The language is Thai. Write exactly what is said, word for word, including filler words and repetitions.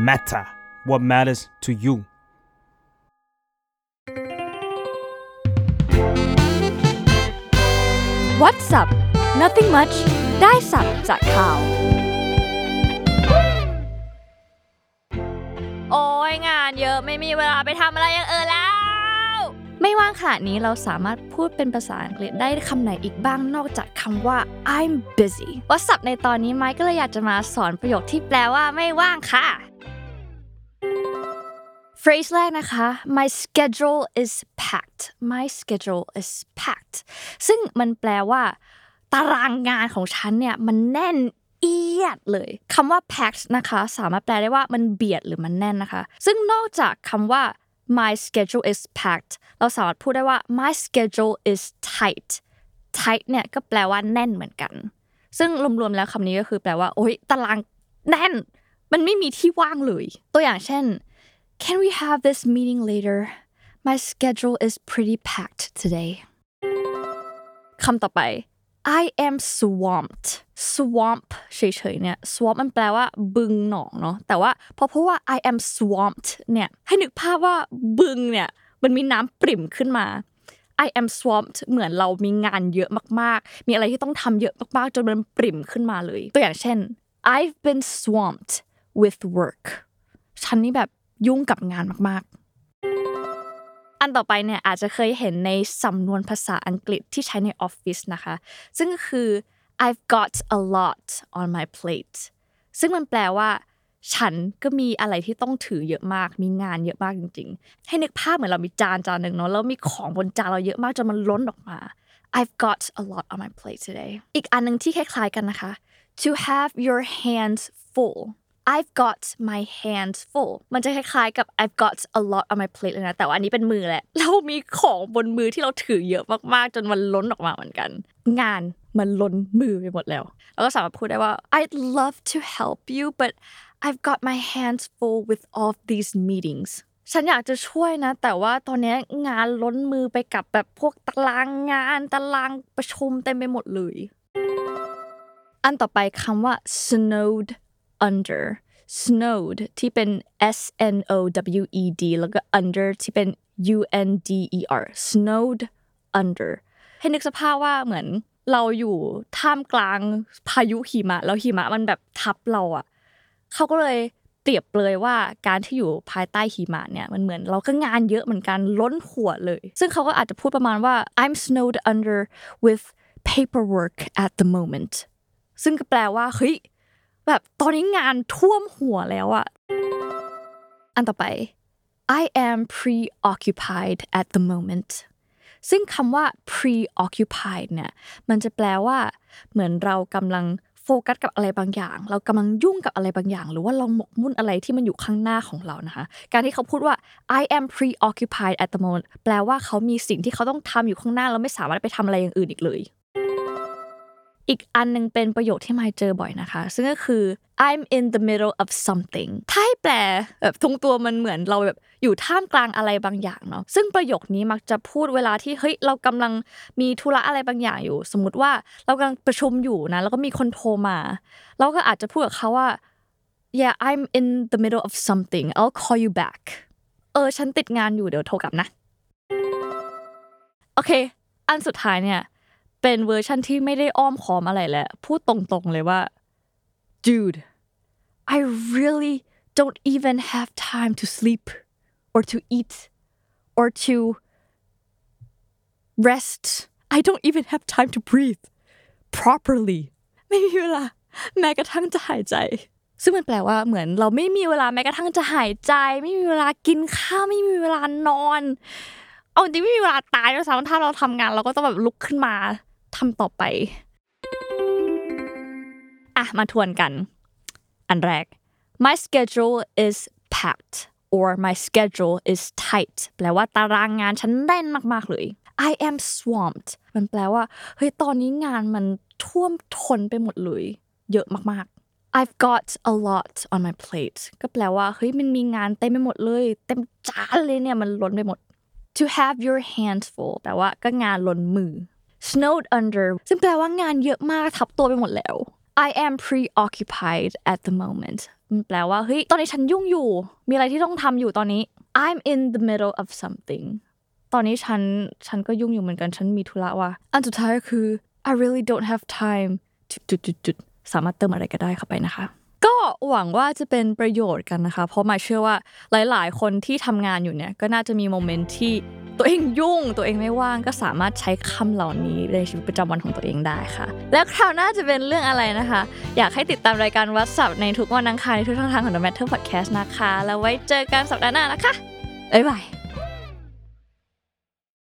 matter what matters to you What's up Nothing much ได้สับจากข่าวโอ้ยงานเยอะไม่มีเวลาไปทำอะไรอย่างอื่นแล้วไม่ว่างขนาดนี้เราสามารถพูดเป็นภาษาอังกฤษได้คำไหนอีกบ้างนอกจากคำว่า I'm busy What's up ในตอนนี้ไมค์ก็เลยอยากจะมาสอนประโยคที่แปลว่าไม่ว่างค่ะ phrase แรกนะคะ my schedule is packed my schedule is packed ซึ่งมันแปลว่าตารางงานของฉันเนี่ยมันแน่นเอียดเลยคำว่า packed นะคะสามารถแปลได้ว่ามันเบียดหรือมันแน่นนะคะซึ่งนอกจากคำว่า my schedule is packed เราสามารถพูดได้ว่า my schedule is tight tight เนี่ยก็แปลว่าแน่นเหมือนกันซึ่งรวมๆแล้วคำนี้ก็คือแปลว่าโอ๊ยตารางแน่นมันไม่มีที่ว่างเลยตัวอย่างเช่นCan we have this meeting later? My schedule is pretty packed today. คำต่อไป I am swamped. Swamp เฉยๆเนี่ย swamp มันแปลว่าบึงหนองเนาะแต่ว่าพอพูดว่า I am swamped เนี่ยให้นึกภาพว่าบึงเนี่ยมันมีน้ำปริ่มขึ้นมา I am swamped เหมือนเรามีงานเยอะมากๆมีอะไรที่ต้องทำเยอะมากๆจนมันปริ่มขึ้นมาเลยตัวอย่างเช่น I've been swamped with work ฉันนี่แบบยุ่งกับงานมากๆอันต่อไปเนี่ยอาจจะเคยเห็นในสำนวนภาษาอังกฤษที่ใช้ในออฟฟิศนะคะซึ่งก็คือ I've got a lot on my plate ซึ่งมันแปลว่าฉันก็มีอะไรที่ต้องถือเยอะมากมีงานเยอะมากจริงๆให้นึกภาพเหมือนเรามีจานจานนึงเนาะแล้วมีของบนจานเราเยอะมากจนมันล้นออกมา I've got a lot on my plate today อีกอันนึงที่คล้ายๆกันนะคะ to have your hands full I've got my hands full มันจะคล้ายๆกับ I've got a lot on my plate เลยนะแต่ว่าอันนี้เป็นมือแหละเรามีของบนมือที่เราถือเยอะมากๆจนมันล้นออกมาเหมือนกันงานมันล้นมือไปหมดแล้วเราก็สามารถพูดได้ว่า I'd love to help you but I've got my hands full with all of these meetings ฉันอยากจะช่วยนะแต่ว่าตอนนี้งานล้นมือไปกับแบบพวกตารางงานตารางประชุมเต็มไปหมดเลยอันต่อไปคำว่า snowed under snowed ที่เป็น S N O W E D แล้วก็ under ที่เป็น U N D E R snowed under ให้นึกสภาพว่าเหมือนเราอยู่ท่ามกลางพายุหิมะแล้วหิมะมันแบบทับเราอ่ะเขาก็เลยเปรียบเลยว่าการที่อยู่ภายใต้หิมะเนี่ยมันเหมือนเราก็งานเยอะเหมือนกันล้นหัวเลยซึ่งเขาก็อาจจะพูดประมาณว่า I'm snowed under with paperwork at the momentซึ่งก็แปลว่าเฮ้ยแบบตอนนี้งานท่วมหัวแล้วอะอันต่อไป I am preoccupied at the moment ซึ่งคำว่า preoccupied เนี่ยมันจะแปลว่าเหมือนเรากำลังโฟกัสกับอะไรบางอย่างเรากำลังยุ่งกับอะไรบางอย่างหรือว่าเราหมกมุ่นอะไรที่มันอยู่ข้างหน้าของเรานะคะการที่เขาพูดว่า I am preoccupied at the moment แปลว่าเขามีสิ่งที่เขาต้องทำอยู่ข้างหน้าแล้วไม่สามารถไปทำอะไรอย่างอื่นอีกเลยอีกอันนึงเป็นประโยคที่ไมค์เจอบ่อยนะคะซึ่งก็คือ I'm in the middle of something ถ้าให้แปลแบบตรงตัวมันเหมือนเราแบบอยู่ท่ามกลางอะไรบางอย่างเนาะซึ่งประโยคนี้มักจะพูดเวลาที่เฮ้ยเรากำลังมีธุระอะไรบางอย่างอยู่สมมุติว่าเรากำลังประชุมอยู่นะแล้วก็มีคนโทรมาเราก็อาจจะพูดกับเขาว่า Yeah I'm in the middle of something I'll call you back เออฉันติดงานอยู่เดี๋ยวโทรกลับนะโอเคอันสุดท้ายเนี่ยเป็นเวอร์ชันที่ไม่ได้อ้อมค้อมอะไรแล้วพูดตรงๆเลยว่า Dude I really don't even have time to sleep or to eat or to rest I don't even have time to breathe properly ไม่มีเวลาแม้กระทั่งจะหายใจซึ่งมันแปลว่าเหมือนเราไม่มีเวลาแม้กระทั่งจะหายใจไม่มีเวลากินข้าวไม่มีเวลานอนเอาจริงไม่มีเวลาตายด้วยซ้ำถ้าเราทำงานเราก็ต้องแบบลุกขึ้นมาทำต่อไปอ่ะมาทวนกันอันแรก my schedule is packed or my schedule is tight แปลว่าตารางงานฉันแน่นมากๆเลย I am swamped มันแปลว่าเฮ้ยตอนนี้งานมันท่วมท้นไปหมดเลยเยอะมากๆ I've got a lot on my plate ก็แปลว่าเฮ้ยมันมีงานเต็มไปหมดเลยเต็มจานเลยเนี่ยมันล้นไปหมด to have your hands full แปลว่าก็งานล้นมือsnowed under ซึ่งแปลว่างานเยอะมากทับตัวไปหมดแล้ว I am preoccupied at the moment มันแปลว่าเฮ้ยตอนนี้ฉันยุ่งอยู่มีอะไรที่ต้องทำอยู่ตอนนี้ I'm in the middle of something ตอนนี้ฉันฉันก็ยุ่งอยู่เหมือนกันฉันมีธุระว่ะอันสุดท้ายก็คือ I really don't have time จุดๆๆสามารถเติมอะไรก็ได้เข้าไปนะคะก็หวังว่าจะเป็นประโยชน์กันนะคะเพราะมาเชื่อว่าหลายๆคนที่ทำงานอยู่เนี่ยก็น่าจะมีโมเมนต์ที่ตัวเองยุ่งตัวเองไม่ว่างก็สามารถใช้คำเหล่านี้ในชีวิตประจำวันของตัวเองได้ค่ะแล้วคราวหน้าจะเป็นเรื่องอะไรนะคะอยากให้ติดตามรายการวัดสับในทุกวันอังคารในทุกช่องทางของ The Matter Podcast นะคะแล้วไว้เจอกันสัปดาห์หน้านะคะบ๊ายบาย